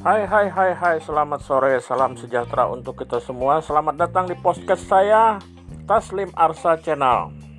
Hai, selamat sore, salam sejahtera untuk kita semua. Selamat datang di podcast saya, Taslim Arsa Channel.